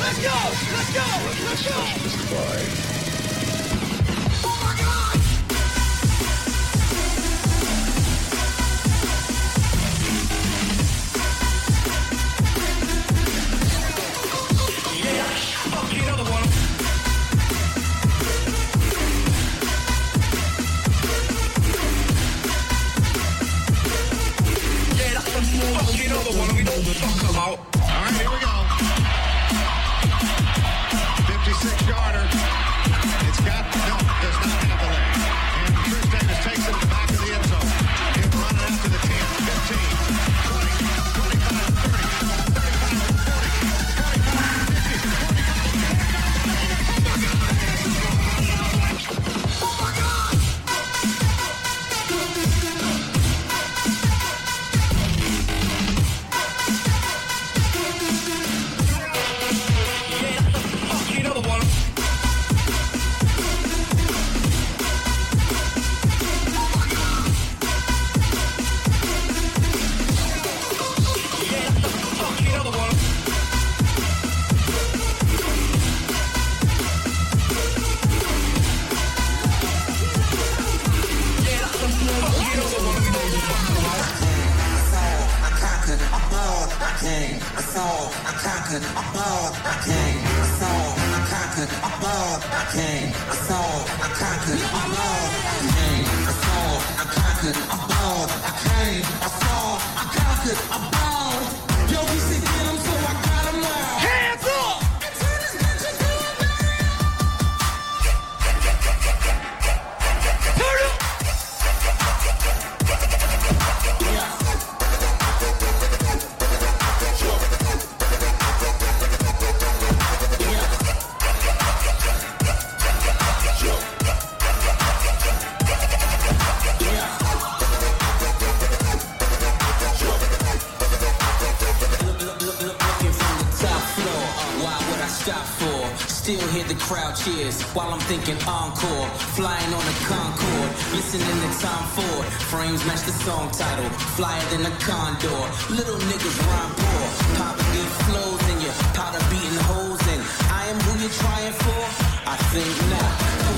While I'm thinking encore, flying on a Concorde, listening to Tom Ford. Frames match the song title, flyer than a condor. Little niggas rhyme poor, poverty flows in you, powder beating holes in. I am who you're trying for? I think not.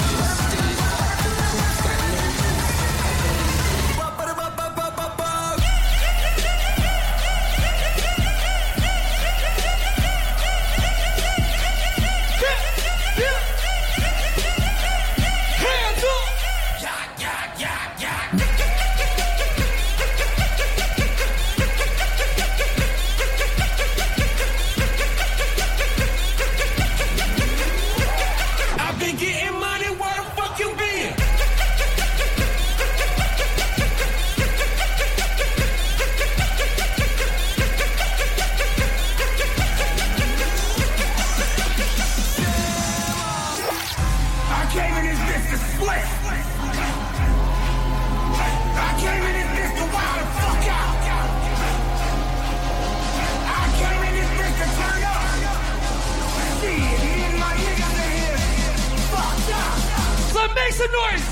Make some noise!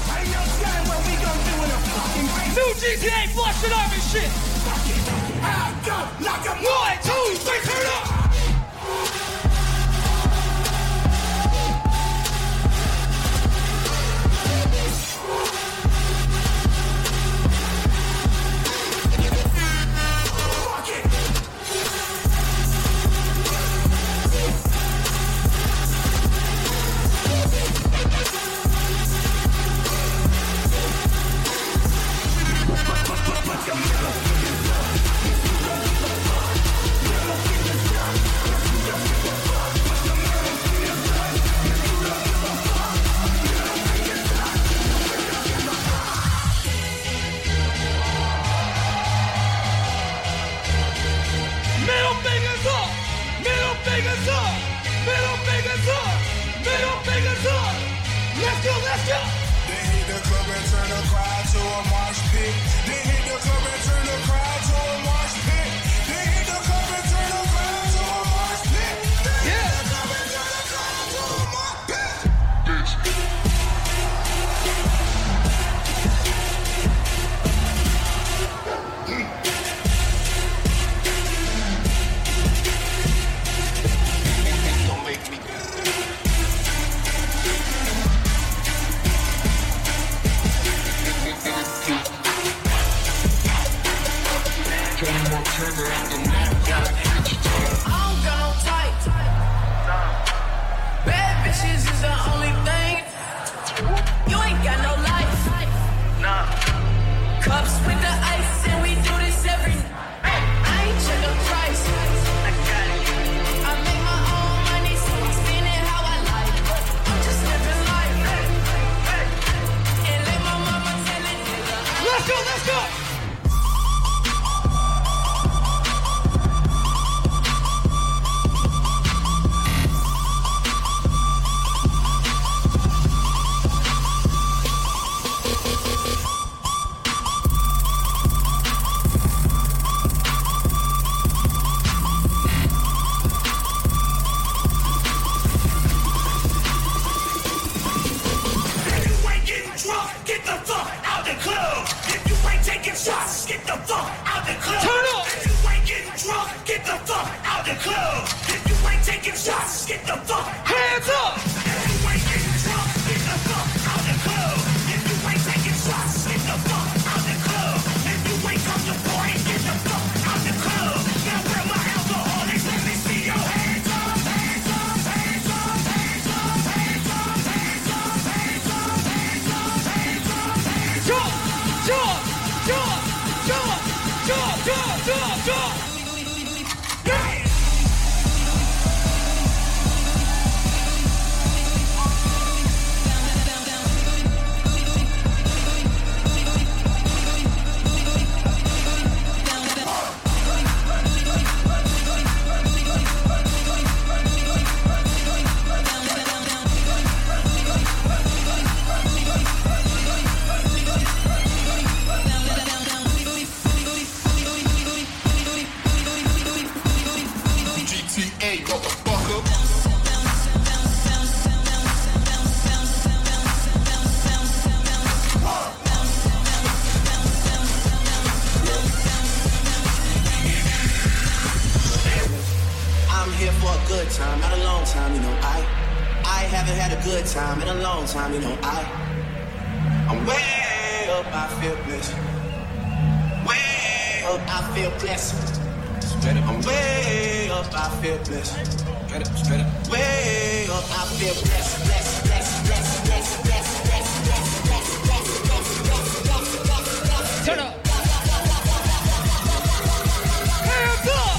New GTA Flush It Up and shit! 1, 2, 3, turn up! don't got no type. Bad bitches is the only thing. You ain't got no life. Cups with the ice and we do this every night. I ain't check the price. I got it. I make my own money, so I spend it how I like. I'm just living life. And let my mama tell it. Let's go, let's go. Shots, get the fuck out the club. Turn up. If you ain't getting drunk, get the fuck out the club. If you ain't taking shots, get the fuck out. Hands up. If you ain't getting drunk, get the fuck out the club. If you ain't taking shots, get the fuck out the club. If you ain't comfortable, get the fuck out the club. Now where my alcoholics, let me see your hands up, hands up, hands up, hands up, hands up, hands up, hands up, hands up, hands up, hands up. Jump, jump. Jump, jump, jump, jump, jump, jump. Yeah. Time, not a long time, you know. I haven't had a good time in a long time, you know. I'm way up, I feel blessed. Way up, I feel blessed. I'm way up, I feel blessed. Way up, I feel blessed, blessed, blessed, blessed, blessed, blessed, blessed, blessed, blessed, blessed, blessed. Turn up. Hands up.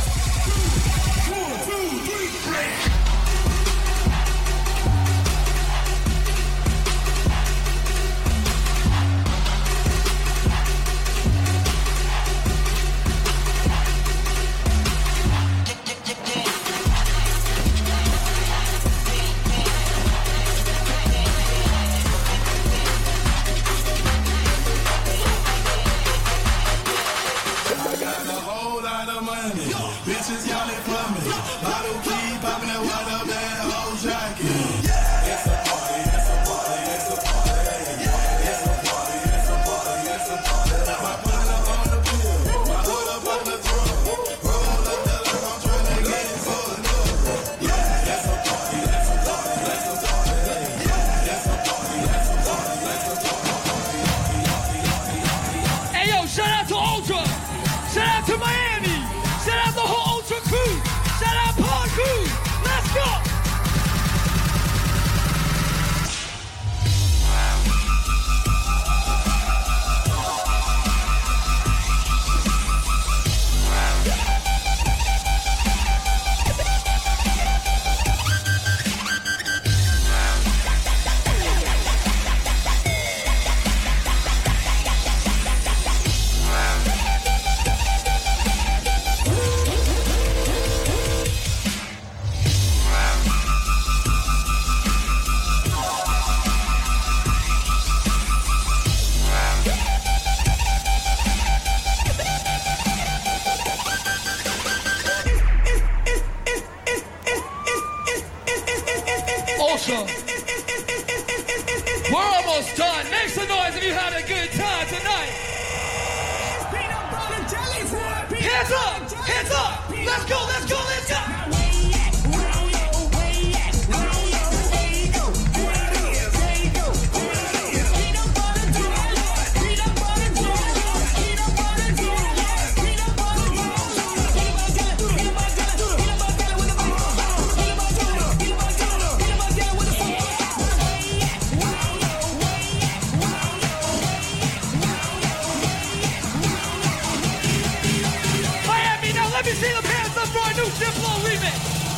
Ultra. We're almost done. Make some noise if you had a good time tonight. Hands up! Hands up! Let's go! Let's go! Let's go! new Diplo remix.